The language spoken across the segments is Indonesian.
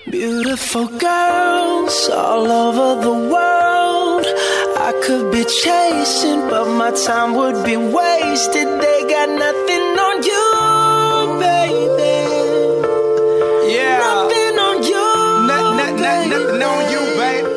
Beautiful girls all over the world. I could be chasing, but my time would be wasted. They got nothing on you, baby. Yeah. Nothing on you, Nothing on you, babe.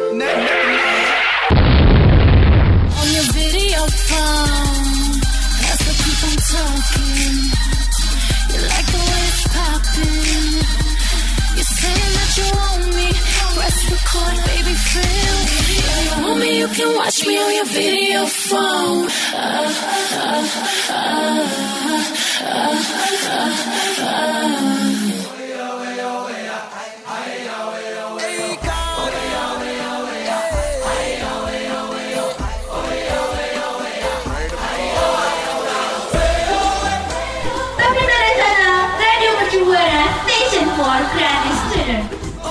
On your video phone, that's what keep on talking. You like the way it's popping. You're saying that you want me. Press record, baby, feel. If you want me, you can watch me on your video phone. Tapi dari sana, Radio Mercu Buana, Station for Creative Student.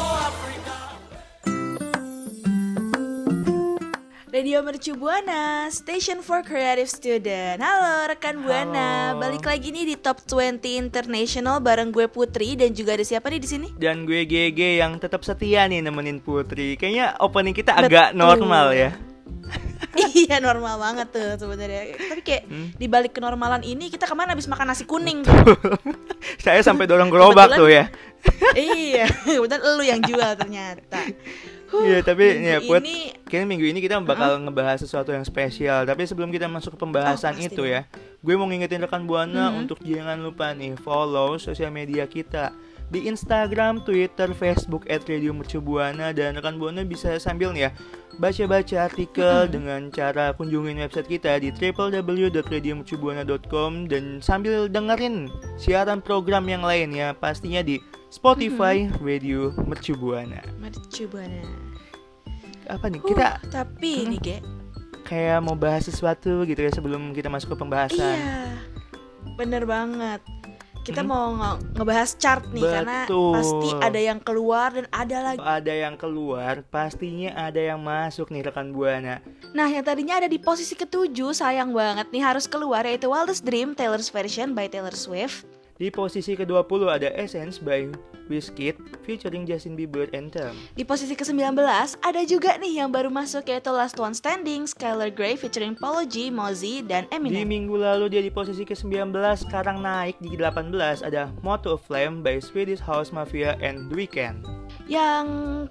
Radio Mercu Buana, Station for Creative Student. Halo rekan Buana, balik lagi nih di Top 20 International bareng gue Putri dan juga ada siapa nih di sini? Dan gue GG yang tetap setia nih nemenin Putri. Kayaknya opening kita agak normal ya. Iya normal banget tuh sebenarnya. Tapi kayak di balik kenormalan ini kita kemana habis makan nasi kuning? Saya sampai dorong gerobak tuh ya. Iya, kebetulan lu yang jual ternyata. Iya tapi ya Put, ini kayaknya minggu ini kita bakal ngebahas sesuatu yang spesial. Tapi sebelum kita masuk ke pembahasan pasti itu ya, gue mau ngingetin rekan Buana untuk jangan lupa nih follow sosial media kita di Instagram, Twitter, Facebook @radiomercubuana. Dan rekan Buana bisa sambil nih ya baca-baca artikel dengan cara kunjungin website kita di www.radiomercubuana.com dan sambil dengerin siaran program yang lain ya, pastinya di Spotify Radio Mercu Buana. Mercu Buana. Apa nih kita Tapi nih Ge, kayak mau bahas sesuatu gitu ya sebelum kita masuk ke pembahasan. iya bener banget. Kita mau ngebahas chart nih. Betul. Karena pasti ada yang keluar dan ada lagi. Ada yang keluar, pastinya ada yang masuk nih rekan Buana. Nah yang tadinya ada di posisi ke-7 sayang banget nih harus keluar, yaitu Wildest Dream Taylor's Version by Taylor Swift. Di posisi ke-20 ada Essence by Wizkid featuring Justin Bieber Anthem. Di posisi ke-19 ada juga nih yang baru masuk, yaitu Last One Standing, Skylar Grey featuring Polo G, Mozzie, dan Di Eminem. minggu lalu dia di posisi ke-19, sekarang naik di 18 ada Moto of Flame by Swedish House Mafia and The Weeknd. Yang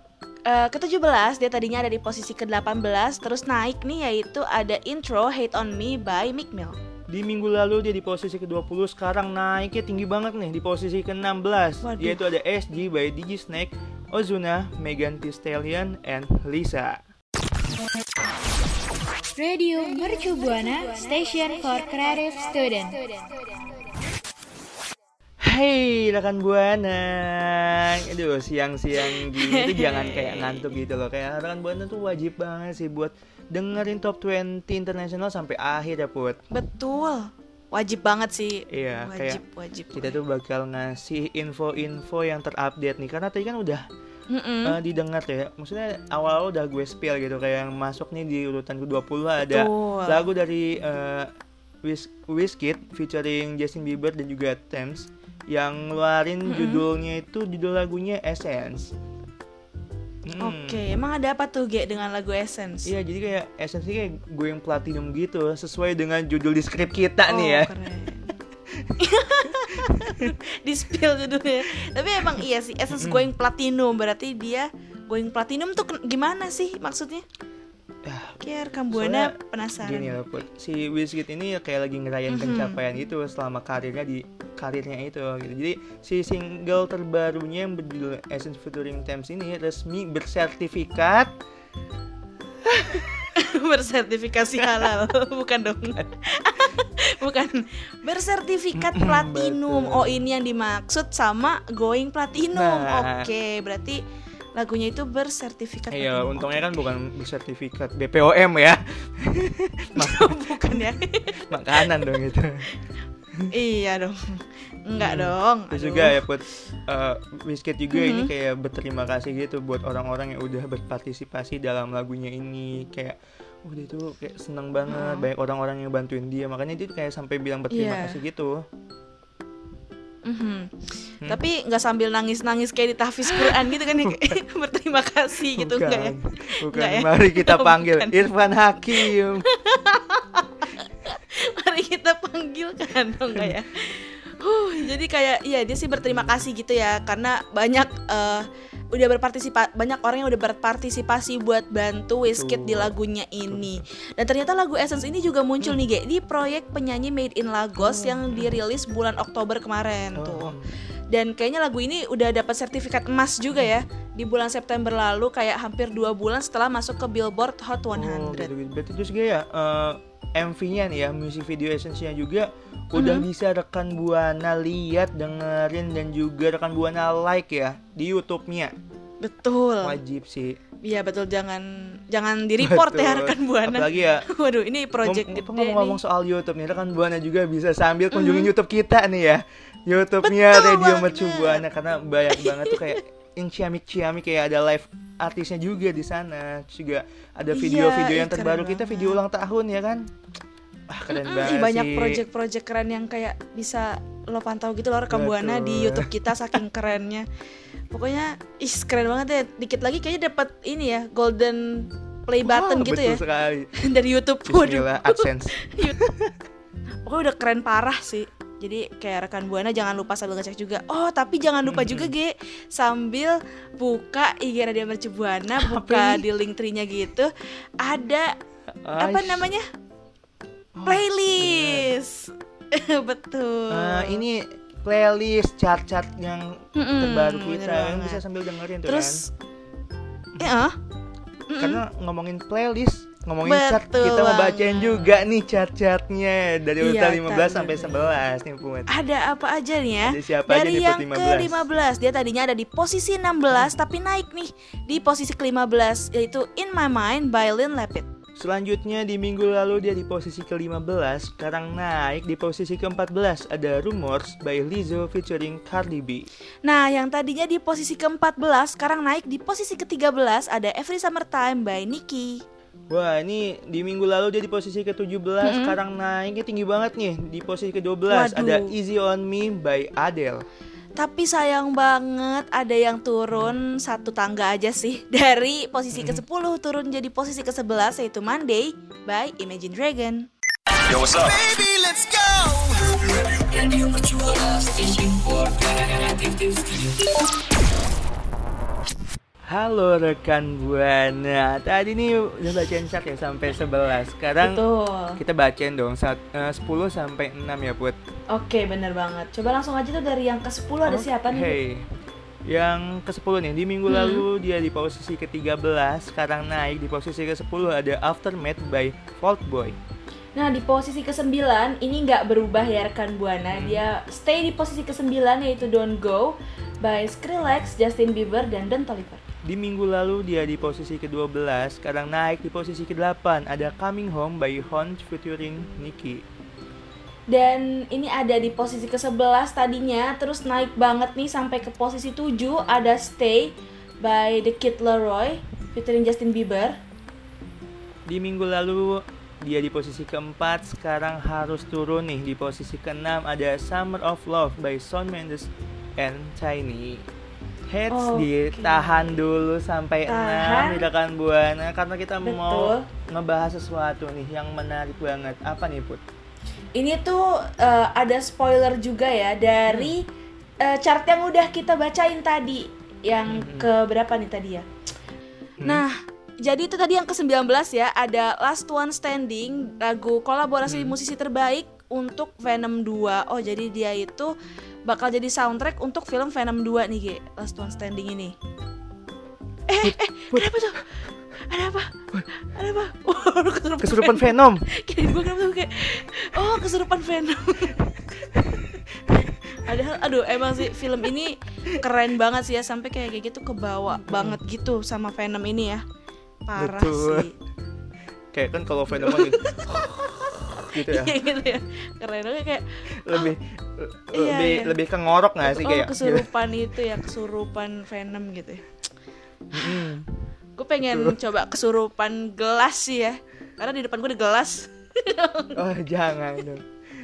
ke-17 dia tadinya ada di posisi ke-18, terus naik nih, yaitu ada Intro Hate On Me by Meek Mill. Di minggu lalu dia di posisi ke-20, sekarang naiknya tinggi banget nih di posisi ke-16. Waduh. Yaitu ada SG by DJ Snake, Ozuna, Megan Thee Stallion, and Lisa. Radio Mercu Buana, Station for Creative Student. Hey rekan Buana, aduh siang-siang gini tuh jangan kayak ngantuk gitu loh. Kayak rekan Buana tuh wajib banget sih buat dengerin Top 20 International sampai akhir ya Put. Betul, wajib banget sih. Iya, wajib. Kita tuh bakal ngasih info-info yang terupdate nih. Karena tadi kan udah didengar ya. Maksudnya awal udah gue spill gitu. Kayak yang masuk nih di urutan ke-20 ada Betul. lagu dari Wizkid featuring Justin Bieber dan juga Tems yang ngeluarin judulnya itu, judul lagunya Essence. Oke, emang ada apa tuh Ge dengan lagu Essence? Iya, jadi kayak Essence ini kayak going platinum gitu, sesuai dengan judul di skrip kita nih ya. Keren. Di spill judulnya. Tapi emang iya sih, Essence going platinum, berarti dia going platinum tuh gimana sih maksudnya? Kayak rekam Buana Soalnya penasaran. Gini loh Put, si Wizkid ini kayak lagi ngerayain pencapaian itu selama karirnya itu gitu. Jadi si single terbarunya yang berjudul Essence featuring Tems ini resmi bersertifikat Bersertifikasi halal, bukan dong. Bukan, bersertifikat platinum. Betul. Oh, ini yang dimaksud sama going platinum. Nah. Oke, berarti lagunya itu bersertifikat Iya, platinum. untungnya kan bukan bersertifikat BPOM ya. Bukan ya. Makanan dong itu. Iya dong. Enggak dong. Terus Aduh. juga ya Put, Wizkid juga ini kayak berterima kasih gitu buat orang-orang yang udah berpartisipasi dalam lagunya ini. Kayak dia tuh kayak seneng banget, banyak orang-orang yang bantuin dia. Makanya dia kayak sampai bilang berterima Iya. kasih gitu. Tapi nggak sambil nangis-nangis kayak di tahfiz Quran gitu kan ya, kayak berterima kasih gitu enggak ya? Bukan. Nggak ya? Mari kita panggil Bukan. Irfan Hakim. Mari kita panggilkan dong enggak ya? Jadi kayak iya dia sih berterima kasih gitu ya karena banyak banyak orang yang udah berpartisipasi buat bantu Wizkid di lagunya ini. Dan ternyata lagu Essence ini juga muncul nih Ge di proyek penyanyi Made in Lagos yang dirilis bulan Oktober kemarin tuh. Dan kayaknya lagu ini udah dapat sertifikat emas juga ya di bulan September lalu, kayak hampir 2 bulan setelah masuk ke Billboard Hot 100. Gitu. Berarti terus ya MV-nya nih ya, music video Essence-nya juga udah bisa rekan Buana lihat, dengerin, dan juga rekan Buana like ya di YouTube-nya. Betul. Wajib sih. Iya betul, jangan di report ya rekan Buana. Apalagi ya. Waduh, ini project gede nih. Ngomong soal YouTube nih, rekan Buana juga bisa sambil kunjungin YouTube kita nih ya. YouTube-nya Betul Radio banget. Mercu Buana, karena banyak banget tuh kayak ciamik-ciamik, kayak ada live artisnya juga di sana. Terus juga ada video-video yang keren terbaru kita, banget. video ulang tahun ya kan. Keren banget Banyak sih. project-project keren yang kayak bisa lo pantau gitu loh rekam Buana di YouTube kita, saking kerennya. Pokoknya keren banget ya. Dikit lagi kayaknya dapat ini ya, golden play button gitu betul ya sekali. dari YouTube. Waduh. Bismillah, AdSense. Pokoknya udah keren parah sih. Jadi kayak rekan Buana jangan lupa sambil ngecek juga. Oh tapi jangan lupa juga Ge, sambil buka IG Radio Mercu Buana, buka di link tree-nya gitu, ada apa namanya? Playlist. Betul. Ini playlist chart-chart yang terbaru bener kita, yang banget. bisa sambil dengerin tuh Terus kan. Karena ngomongin playlist, ngomongin chart, Betul kita mau banget. bacain juga nih chart-chartnya dari urutan Iya, 15 sampai 11 nih Put. ada apa aja nih ya? Ada siapa aja Dari nih, yang Put, 15? ke-15, dia tadinya ada di posisi 16 tapi naik nih di posisi ke-15, yaitu In My Mind by Lynn Lapid. Selanjutnya di minggu lalu dia di posisi ke-15, sekarang naik di posisi ke-14, ada Rumors by Lizzo featuring Cardi B. Nah, yang tadinya di posisi ke-14 sekarang naik di posisi ke-13, ada Every Summertime by Nicki. Wah, ini di minggu lalu dia di posisi ke-17, sekarang naiknya tinggi banget nih. Di posisi ke-12 Waduh. ada Easy On Me by Adele. Tapi sayang banget ada yang turun satu tangga aja sih. Dari posisi ke-10 turun jadi posisi ke-11, yaitu Monday by Imagine Dragon. Yo, what's up? Halo rekan Buana. Tadi nih udah bacain chart ya sampai 11. Sekarang Betul. kita bacain dong 10 sampai 6 ya, Put. Oke, bener banget. Coba langsung aja tuh dari yang ke-10 ada siapa nih? Hey. Yang ke-10 nih, di minggu lalu dia di posisi ke-13, sekarang naik di posisi ke-10 ada Aftermath by Fault Boy. Nah, di posisi ke-9 ini nggak berubah ya rekan Buana. Dia stay di posisi ke-9 yaitu Don't Go by Skrillex, Justin Bieber, dan Don Toliver. Di minggu lalu dia di posisi ke-12, sekarang naik di posisi ke-8 ada Coming Home by Honch featuring Nicki. Dan ini ada di posisi ke-11 tadinya, terus naik banget nih sampai ke posisi 7 ada Stay by The Kid Laroi featuring Justin Bieber. Di minggu lalu dia di posisi ke-4, sekarang harus turun nih. Di posisi ke-6 ada Summer of Love by Shawn Mendes and Tiny. Heads ditahan dulu sampai 6 di rekan Buana, karena kita mau ngebahas sesuatu nih yang menarik banget. Apa nih, Put? Ini tuh ada spoiler juga ya dari chart yang udah kita bacain tadi. Yang ke berapa nih tadi ya? Nah, jadi itu tadi yang ke-19 ya, ada Last One Standing, lagu kolaborasi musisi terbaik untuk Venom 2. Oh, jadi dia itu bakal jadi soundtrack untuk film Venom 2 nih, Ge. Last One Standing ini. Ada apa tuh? Ada apa? Ada apa? Kesurupan Venom. Kirain gue kenapa tuh kayak kesurupan Venom. Aduh, emang sih film ini keren banget sih ya, sampai kayak gitu kebawa banget gitu sama Venom ini ya. Parah Betul. sih. Kayak kan kalau Venom gitu ya. Iya gitu ya. Keren banget kayak Lebih ke ngorok nggak sih kayak? kesurupan itu ya, kesurupan Venom gitu ya. Gue pengen coba kesurupan gelas sih ya, karena di depan gue ada gelas. Oh, jangan dong.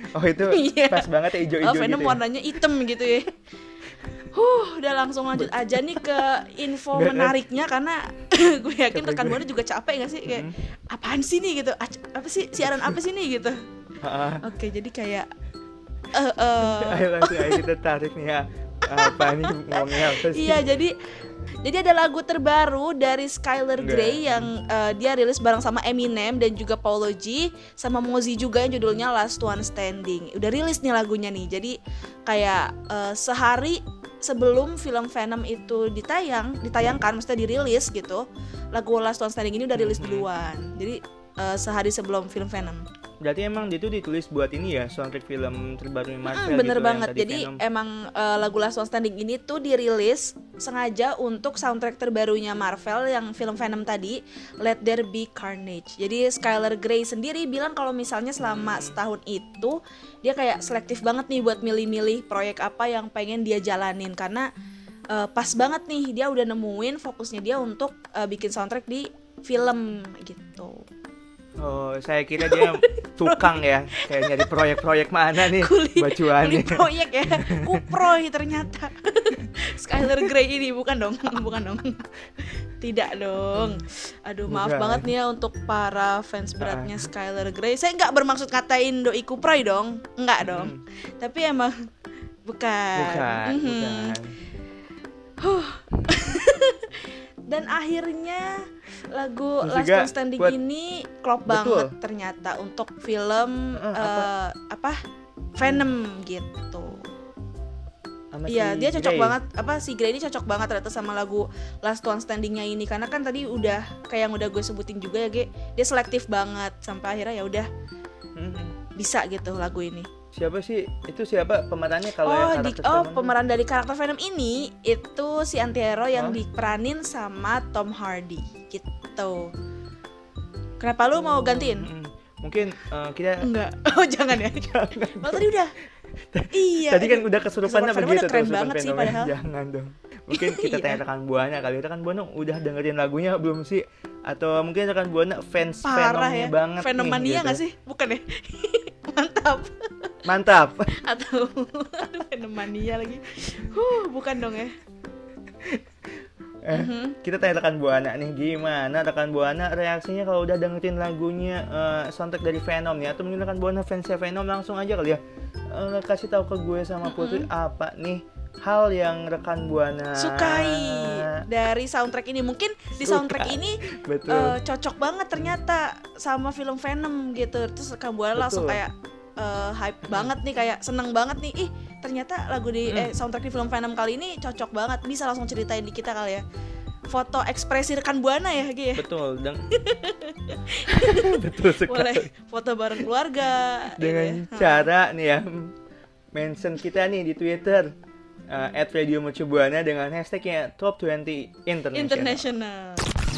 Oh itu Iya. pas banget ya hijau-hijau Venom gitu ya? warnanya hitam gitu ya. Udah langsung lanjut aja nih ke info Nggak, menariknya karena gue yakin rekan Buana juga capek gak sih kayak apaan sih nih gitu, apa sih siaran apa sih nih gitu. Oke, jadi kayak Ayo langsung aja kita tarik nih ya. Apa nih ngomongnya apa sih? iya, jadi ada lagu terbaru dari Skylar Grey yang dia rilis bareng sama Eminem dan juga Paulo G sama Mozzy juga yang judulnya Last One Standing. Udah rilis nih lagunya nih. Jadi kayak sehari sebelum film Venom itu ditayangkan, maksudnya dirilis gitu, lagu Last One Standing ini udah rilis duluan. Jadi sehari sebelum film Venom. Berarti emang dia tuh ditulis buat ini ya, soundtrack film terbaru Marvel Bener gitu, banget. yang tadi Jadi Venom. emang lagu Last One Standing ini tuh dirilis sengaja untuk soundtrack terbarunya Marvel yang film Venom tadi, Let There Be Carnage. Jadi Skylar Grey sendiri bilang kalau misalnya selama setahun itu dia kayak selektif banget nih buat milih-milih proyek apa yang pengen dia jalanin karena pas banget nih dia udah nemuin fokusnya dia untuk bikin soundtrack di film gitu. Oh, saya kira dia tukang ya, kayak nyari proyek-proyek mana nih Kuli bacuannya. proyek ya, kuproy ternyata. Skylar Grey ini bukan dong. Tidak dong. Aduh, maaf Bukan. banget nih ya untuk para fans beratnya Skylar Grey. Saya nggak bermaksud ngatain doi kuproy dong, nggak dong. Tapi emang bukan. Bukan. Dan akhirnya lagu Terus Last juga One Standing buat- ini klop Betul. banget ternyata untuk film Venom gitu. Sama Iya, si dia cocok Grey. banget. Si Grey ini cocok banget ternyata sama lagu Last One Standing-nya ini karena kan tadi udah kayak yang udah gue sebutin juga ya, Ge. Dia selektif banget sampai akhirnya ya udah bisa gitu lagu ini. Siapa sih? Itu siapa pemerannya kalau yang karakter Venom? Pemeran dari karakter Venom ini itu si Antero yang diperanin sama Tom Hardy gitu. Kenapa lu mau gantiin? Mungkin kita Enggak. Oh, jangan ya. Oh, tadi udah. Iya. tadi kan udah kesurupannya Kesurupan begitu udah keren kesurupan banget sih Venom. padahal. Jangan dong. Mungkin kita Iya. tanya rekan Buana kali. Rekan Buana udah dengerin lagunya belum sih? Atau mungkin rekan Buana fans Parah Venomnya ya. banget Venomania nih, gitu. nggak sih? Bukan ya? Mantap. Mantap. Atau Venomania lagi. Bukan dong ya. Kita tanya rekan Buana nih, gimana rekan Buana reaksinya kalau udah dengerin lagunya soundtrack dari Venom nih? Atau mungkin rekan Buana fansnya Venom langsung aja kali ya kasih tahu ke gue sama Putri apa nih hal yang rekan Buana Sukai dari soundtrack ini. Mungkin di soundtrack ini Betul. cocok banget ternyata sama film Venom gitu. Terus rekan Buana langsung kayak hype banget nih, kayak seneng banget nih. Ih, ternyata lagu di soundtrack di film Venom kali ini cocok banget. Bisa langsung ceritain di kita kali ya. Foto ekspresi rekan Buana ya, Gi ya. Betul, betul sekali. Boleh foto bareng keluarga Dengan gitu ya. cara nih ya mention kita nih di Twitter @radiomercubuana dengan hashtagnya Top 20 International.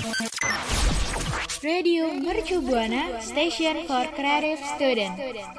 Radio Mercu Buana, Station for Creative Student.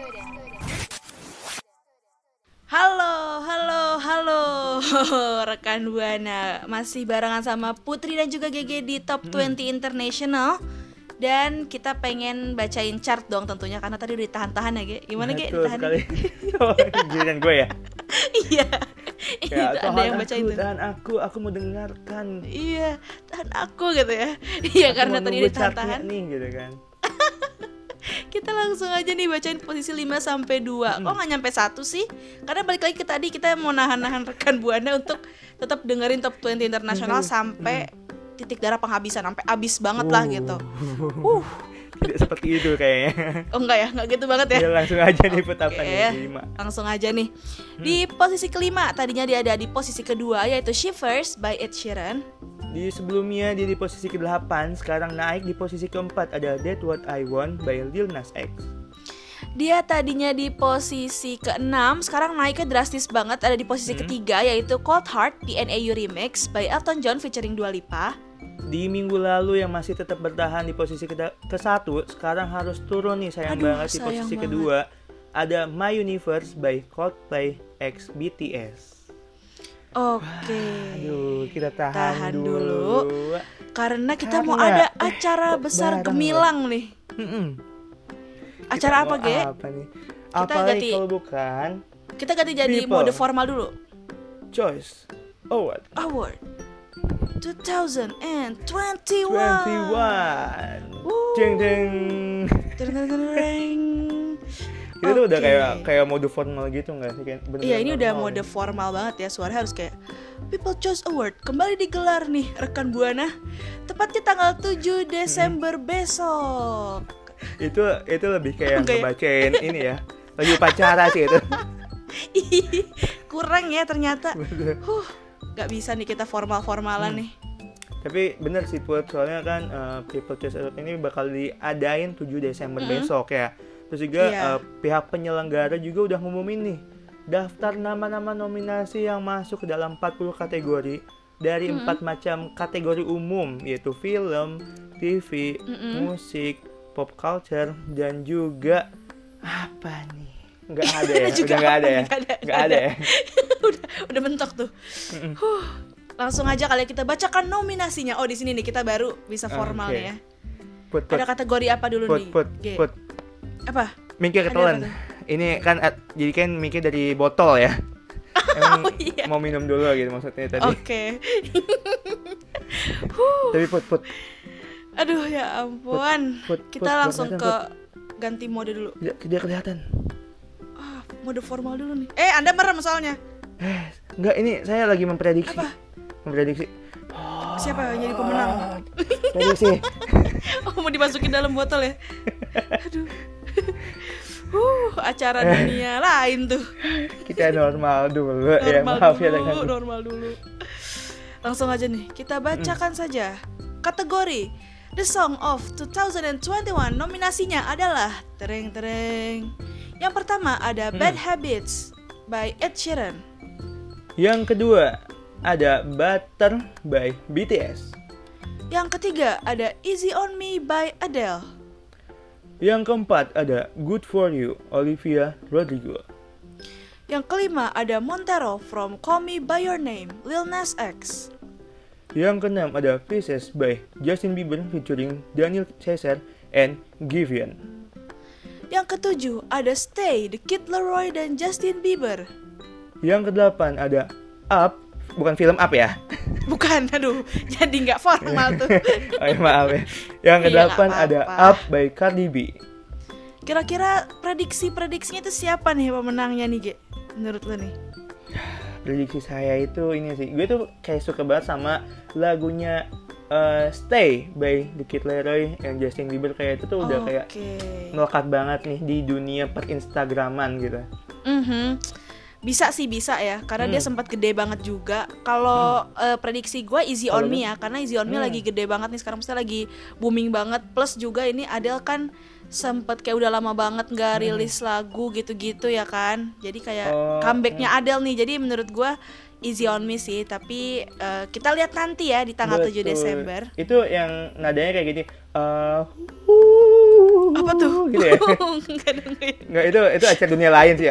Halo rekan Buana. Masih barengan sama Putri dan juga GG di Top 20 International. Dan kita pengen bacain chart dong tentunya karena tadi udah ditahan-tahan ya, Ge. Gimana, Ge? Betul Ditahan? sekali. Oh, giliran gue ya. Iya. Ya, Itu ada yang bacain tuh. tahan aku mau dengarkan. Iya, tahan aku gitu ya. Iya, Aku karena mau tadi nunggu ditahan-tahan. chartnya nih gitu kan. Kita langsung aja nih bacain posisi 5 sampai 2. Kok nggak nyampe 1 sih? Karena balik lagi ke tadi kita mau nahan-nahan rekan Buana untuk tetap dengerin Top 20 Internasional sampai titik darah penghabisan, sampai habis banget lah gitu. Tidak seperti itu kayaknya. Oh enggak ya, enggak gitu banget ya. Ya langsung aja nih put apa Oke, nih 5. langsung aja nih. Di posisi kelima, tadinya dia ada di posisi kedua yaitu Shivers by Ed Sheeran. Di sebelumnya dia di posisi ke-8, sekarang naik di posisi ke-4 ada That's What I Want by Lil Nas X. Dia tadinya di posisi ke-6, sekarang naiknya drastis banget, ada di posisi ketiga yaitu Cold Heart PNAU Remix by Elton John featuring Dua Lipa. Di minggu lalu yang masih tetap bertahan di posisi ke-1, sekarang harus turun nih sayang banget di sayang posisi banget. kedua. Ada My Universe by Coldplay x BTS. Oke. Aduh, kita tahan Tahan dulu. dulu. Karena kita mau Karena- ada acara kok besar bareng gemilang nih. Mm-mm. Acara Kita apa, mau Ge? Apa nih? Apalagi kalau bukan Kita ganti jadi People mode formal dulu. Choice Award Award 2021. 21. Wuh. Jeng jeng. Tereng. Itu tuh udah Oke. kayak mode formal gitu nggak sih? Iya, ini udah mode formal banget ya. Suara harus kayak People Choice Award kembali digelar nih rekan Buana. Tepatnya tanggal 7 Desember besok. Itu lebih kayak Enggak ya? ngebacain ini ya. Lagi upacara sih itu. Ih, kurang ya ternyata. Bener. Gak bisa nih kita formal-formalan nih. Tapi bener sih Put, soalnya kan People Choice Award ini bakal diadain 7 Desember besok ya. Terus juga Iya. pihak penyelenggara juga udah ngumumin nih daftar nama-nama nominasi yang masuk ke dalam 40 kategori dari 4 macam kategori umum, yaitu film, TV, musik, pop culture, dan juga apa nih? Nggak ada ya? Juga Udah nggak ada ya? nggak ada. ya? udah mentok tuh. Langsung aja kali kita bacakan nominasinya. Oh, di sini nih kita baru bisa formal Oke. nih ya. Put, Ada kategori apa dulu nih? G. Put. Apa? Mikir Ada ketelan. apa tuh? Ini kan jadi kan mikir dari botol ya. Emang Oh, iya. mau minum dulu gitu maksudnya tadi. Oke. Tapi Put. Aduh ya ampun. Put, Kita Put, langsung kelihatan, ke ganti mode dulu. Dia kelihatan. Mode formal dulu nih. Anda merem soalnya. Enggak, ini saya lagi memprediksi. Apa? Memprediksi. Siapa yang jadi pemenang? Prediksi. Oh, mau dimasukin dalam botol ya? Aduh. Acara dunia lain tuh. Kita normal dulu ya. Maaf ya dengan Normal dulu. Langsung aja nih, kita bacakan saja. Kategori The Song of 2021 nominasinya adalah tereng. Yang pertama ada Bad Habits by Ed Sheeran. Yang kedua ada Butter by BTS. Yang ketiga ada Easy on Me by Adele. Yang keempat ada Good for You Olivia Rodrigo. Yang kelima ada Montero from Call Me by Your Name Lil Nas X. Yang keenam ada Pieces by Justin Bieber featuring Daniel Caesar and Giveon. Yang ketujuh ada Stay The Kid Laroi dan Justin Bieber. Yang kedelapan ada Up, bukan film Up ya. Bukan, aduh, jadi nggak formal tuh. Oh ya, maaf ya. Yang Iya, kedelapan nggak ada apa-apa. Up by Cardi B. Kira-kira prediksinya itu siapa nih pemenangnya nih, Ge? Menurut lo nih? Prediksi saya itu ini sih, gue tuh kayak suka banget sama lagunya Stay by The Kid Laroi and Justin Bieber. Kayak itu tuh udah kayak melekat banget nih di dunia per-instagraman gitu. Bisa ya, karena dia sempat gede banget juga. Kalau prediksi gue Easy on Me ya, karena Easy on Me lagi gede banget nih sekarang, maksudnya lagi booming banget. Plus juga ini Adele kan sempet kayak udah lama banget nggak rilis lagu gitu-gitu ya kan. Jadi kayak comebacknya Adele nih. Jadi menurut gue Easy on Me sih, tapi kita lihat nanti ya di tanggal 7 Desember. Itu yang nadanya kayak gini. Apa tuh? Gitu ya? Nggak, itu acara dunia lain sih ya.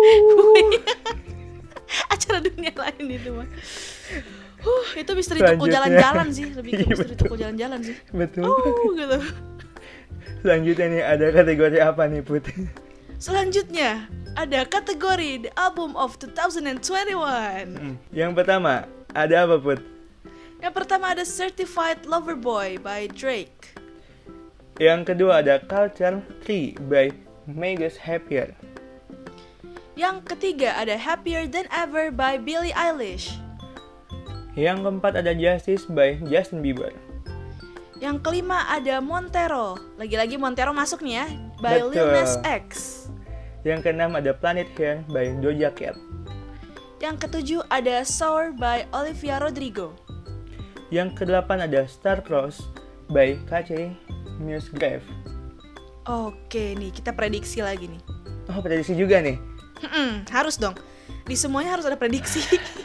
Acara dunia lain itu mah. Itu misteri toko Selanjutnya. jalan-jalan sih, lebih ke Iya, misteri toko jalan-jalan sih. Betul. Gitu. Selanjutnya nih ada kategori apa nih Put? Selanjutnya ada kategori The Album of 2021. Yang pertama ada apa Put? Yang pertama ada Certified Lover Boy by Drake. Yang kedua ada Culture 3 by Make Us Happier. Yang ketiga ada Happier Than Ever by Billie Eilish. Yang keempat ada Justice by Justin Bieber. Yang kelima ada Montero. Lagi-lagi Montero masuk nih ya, by Lil Betul. Nas X. Yang keenam ada Planet Here by Doja Cat. Yang ketujuh ada Sour by Olivia Rodrigo. Yang kedelapan ada Star Cross by Kache Musgrave. Oke nih, kita prediksi lagi nih. Oh, prediksi juga nih. Harus dong. Di semuanya harus ada prediksi.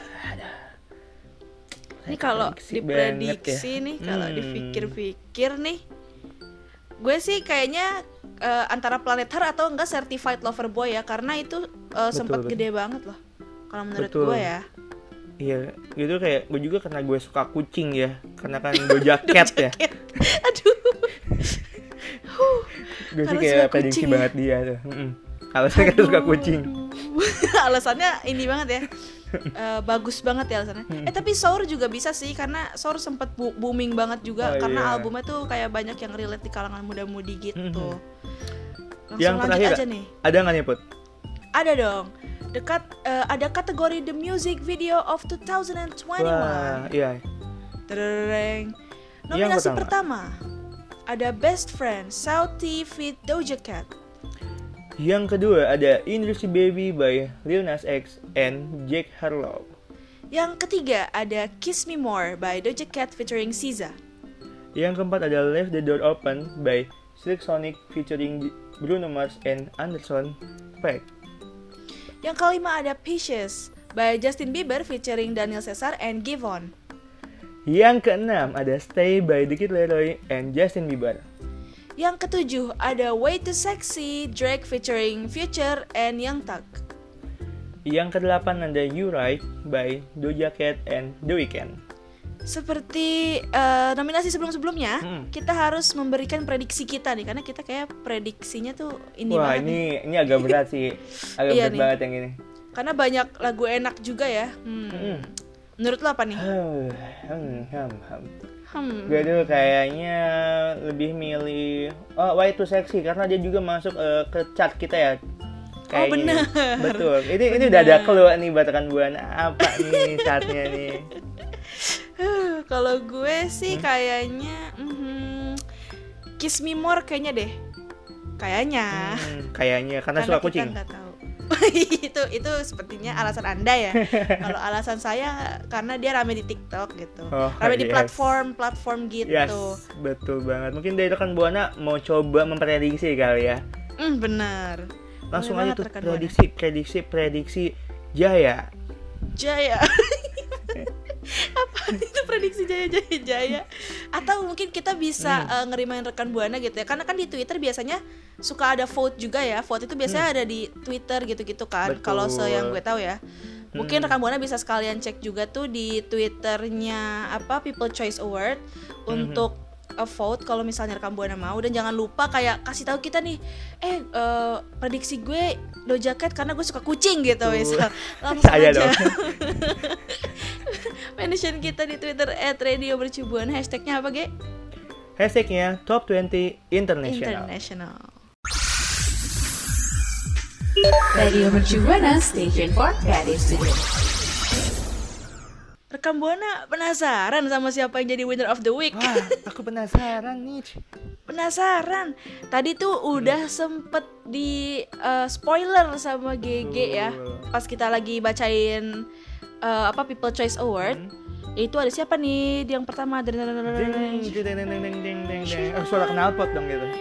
Ini kalau Prediksi diprediksi banget ya. nih, kalau dipikir-pikir nih, gue sih kayaknya antara Planet Her atau enggak Certified Lover Boy ya, karena itu sempat betul. gede banget loh. Kalau menurut Betul. gue ya. Iya, gitu kayak gue juga karena gue suka kucing ya, karena kan Doja Cat ya. Aduh. Gue sih Karena kayak suka prediksi kucing ya. banget dia tuh. Alasannya kan suka kucing. Alasannya ini banget ya. Bagus banget ya alasannya. Tapi Sour juga bisa sih, karena Sour sempet booming banget juga karena albumnya tuh kayak banyak yang relate di kalangan muda-mudi gitu. Langsung Yang lanjut terakhir aja nih. ada nggak nih Put? Ada dong. Ada kategori The Music Video of 2021. Wah, iya. Tereng. Nominasi pertama ada Best Friend Sauti feat Doja Cat. Yang kedua ada Industry Baby by Lil Nas X and Jack Harlow. Yang ketiga ada Kiss Me More by Doja Cat featuring SZA. Yang keempat ada Leave the Door Open by Silk Sonic featuring Bruno Mars and Anderson .Paak. Yang kelima ada Peaches by Justin Bieber featuring Daniel Caesar and Giveon. Yang keenam ada Stay by The Kid Laroi and Justin Bieber. Yang ketujuh ada Way Too Sexy Drake featuring Future and Young Thug. Yang kedelapan ada You Right by Doja Cat and The Weeknd. Seperti nominasi sebelum-sebelumnya, kita harus memberikan prediksi kita nih, karena kita kayak prediksinya tuh ini Wah, banget. ini agak berat sih. Agak Iya berat nih. banget yang ini. Karena banyak lagu enak juga ya. Menurut lo apa nih? Gue dulu kayaknya lebih milih Way Too Sexy karena dia juga masuk ke chart kita ya. Benar. Betul. Ini udah ada clue nih buat rekan Buana. Apa nih chartnya nih? Kalau gue sih kayaknya Kiss Me More kayaknya deh. Kayaknya. Kayaknya karena suka kucing. Kita nggak tahu. itu sepertinya alasan Anda ya. Kalau alasan saya karena dia rame di TikTok gitu. Rame di platform gitu. Yes, betul banget. Mungkin dari rekan Buana mau coba memprediksi kali ya. Benar. Langsung Boleh aja tuh banget, prediksi Jaya. Apa itu prediksi Jaya? Atau mungkin kita bisa ngerimain rekan Buana gitu ya, karena kan di Twitter biasanya suka ada vote juga ya. Vote itu biasanya ada di Twitter gitu-gitu kan. Kalau yang gue tahu ya. Mungkin rekan Buana bisa sekalian cek juga tuh di Twitternya People Choice Award untuk vote kalau misalnya rekan Buana mau. Dan jangan lupa kayak kasih tahu kita nih, prediksi gue Doja Cat karena gue suka kucing gitu misal. Langsung Saya aja dong. mention kita di Twitter @radiomercubuana. Hashtagnya apa, Ge? Hashtagnya Top 20 International. Radio Mercu Buana, Station for Creative Studio. Rekam Buana penasaran sama siapa yang jadi winner of the week? Wah, aku penasaran nih. Penasaran. Tadi tuh udah sempet di spoiler sama GG ya. Pas kita lagi bacain People Choice Award. Yaitu ada siapa nih yang pertama? Suara knalpot dong gitu.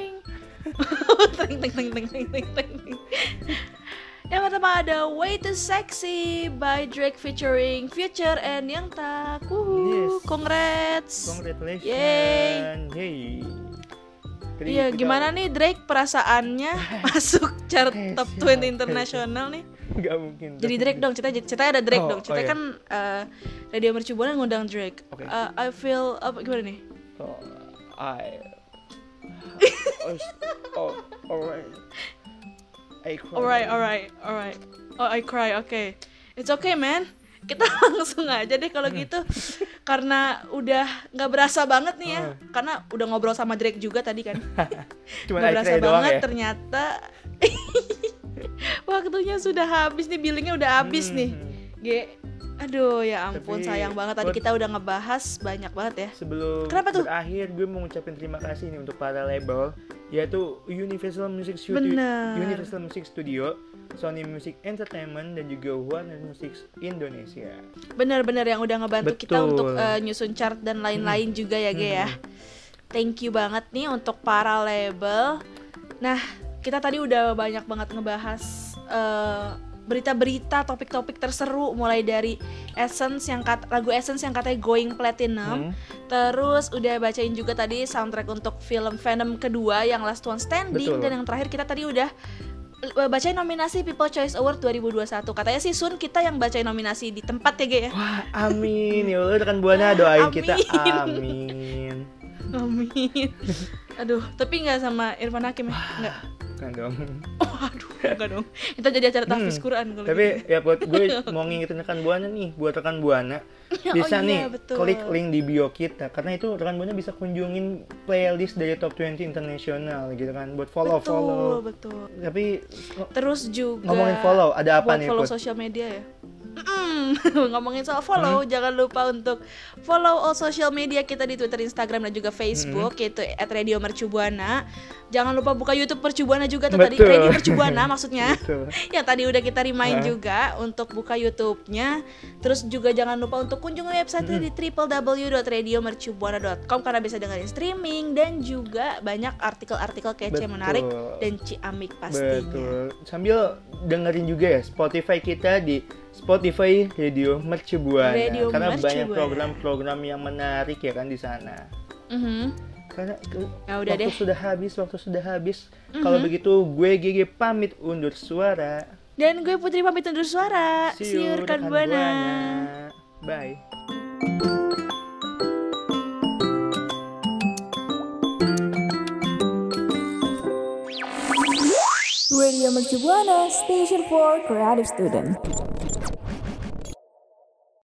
Yang pertama ada Way Too Sexy by Drake featuring Future and Young Thug. Yes. Congrats. Congratulations. Yay. Iya, gimana nih Drake perasaannya masuk chart top 20 internasional nih? Gak mungkin. Jadi Drake dong, ceritanya ada Drake dong. Ceritanya iya. kan Radio Mercu Buana ngundang Drake. Okay. I feel gimana nih? Alright. Oh, I cry. Okay. It's okay, man. Kita langsung aja deh kalau gitu. Karena udah nggak berasa banget nih ya. Karena udah ngobrol sama Drake juga tadi kan. Cuma nggak berasa banget ya? ternyata. Waktunya sudah habis nih, billingnya udah habis nih. Aduh ya ampun. Tapi, sayang banget tadi kita udah ngebahas banyak banget ya. Sebelum berakhir gue mau ngucapin terima kasih nih untuk para label, yaitu Universal Music Studio, Sony Music Entertainment, dan juga Warner Music Indonesia. Bener-bener yang udah ngebantu kita untuk nyusun chart dan lain-lain juga ya Ge ya. Thank you banget nih untuk para label. Nah, kita tadi udah banyak banget ngebahas berita-berita, topik-topik terseru, mulai dari lagu Essence yang katanya going platinum. Terus udah bacain juga tadi soundtrack untuk film Venom kedua yang Last One Standing. Betul. Dan yang terakhir kita tadi udah bacain nominasi People Choice Award 2021. Katanya sih Sun kita yang bacain nominasi di tempat ya Ge ya. Wah, amin. Ya Allah, rekan Buana doain kita. Amin. Amin. Aduh, tapi nggak sama Irfan Hakim ya? Nggak. Bukan dong. Aduh, enggak dong. Kita jadi acara tahfiz Quran kalau Tapi gitu. ya buat gue mau ngingetin rekan Buana nih, buat rekan Buana bisa Oh iya, nih betul. klik link di bio kita, karena itu rekan Buana bisa kunjungin playlist dari Top 20 Internasional gitu kan, buat follow. Betul. Tapi Terus juga ngomongin follow, ada apa buat nih, follow Put? sosial media ya. Ngomongin soal follow, jangan lupa untuk follow all social media kita di Twitter, Instagram dan juga Facebook, yaitu @radiomercubuana. Jangan lupa buka YouTube Mercubuana juga tuh tadi, Betul. Radio Mercubuana maksudnya. Betul. Yang tadi udah kita remind juga untuk buka YouTube-nya. Terus juga jangan lupa untuk kunjungi website di www.radiomercubuana.com karena bisa dengerin streaming dan juga banyak artikel-artikel kece Betul. menarik dan ciamik pastinya. Betul. Sambil dengerin juga ya Spotify kita di Spotify Radio Mercubuana. Radio Karena banyak Mercubuana. program-program yang menarik ya kan di sana. Karena Ya udah waktu deh. waktu sudah habis. Kalau begitu gue GG pamit undur suara. Dan gue Putri pamit undur suara. See you rekan rekan Buana. Bye. Radio Mercubuana, Station for Creative Student.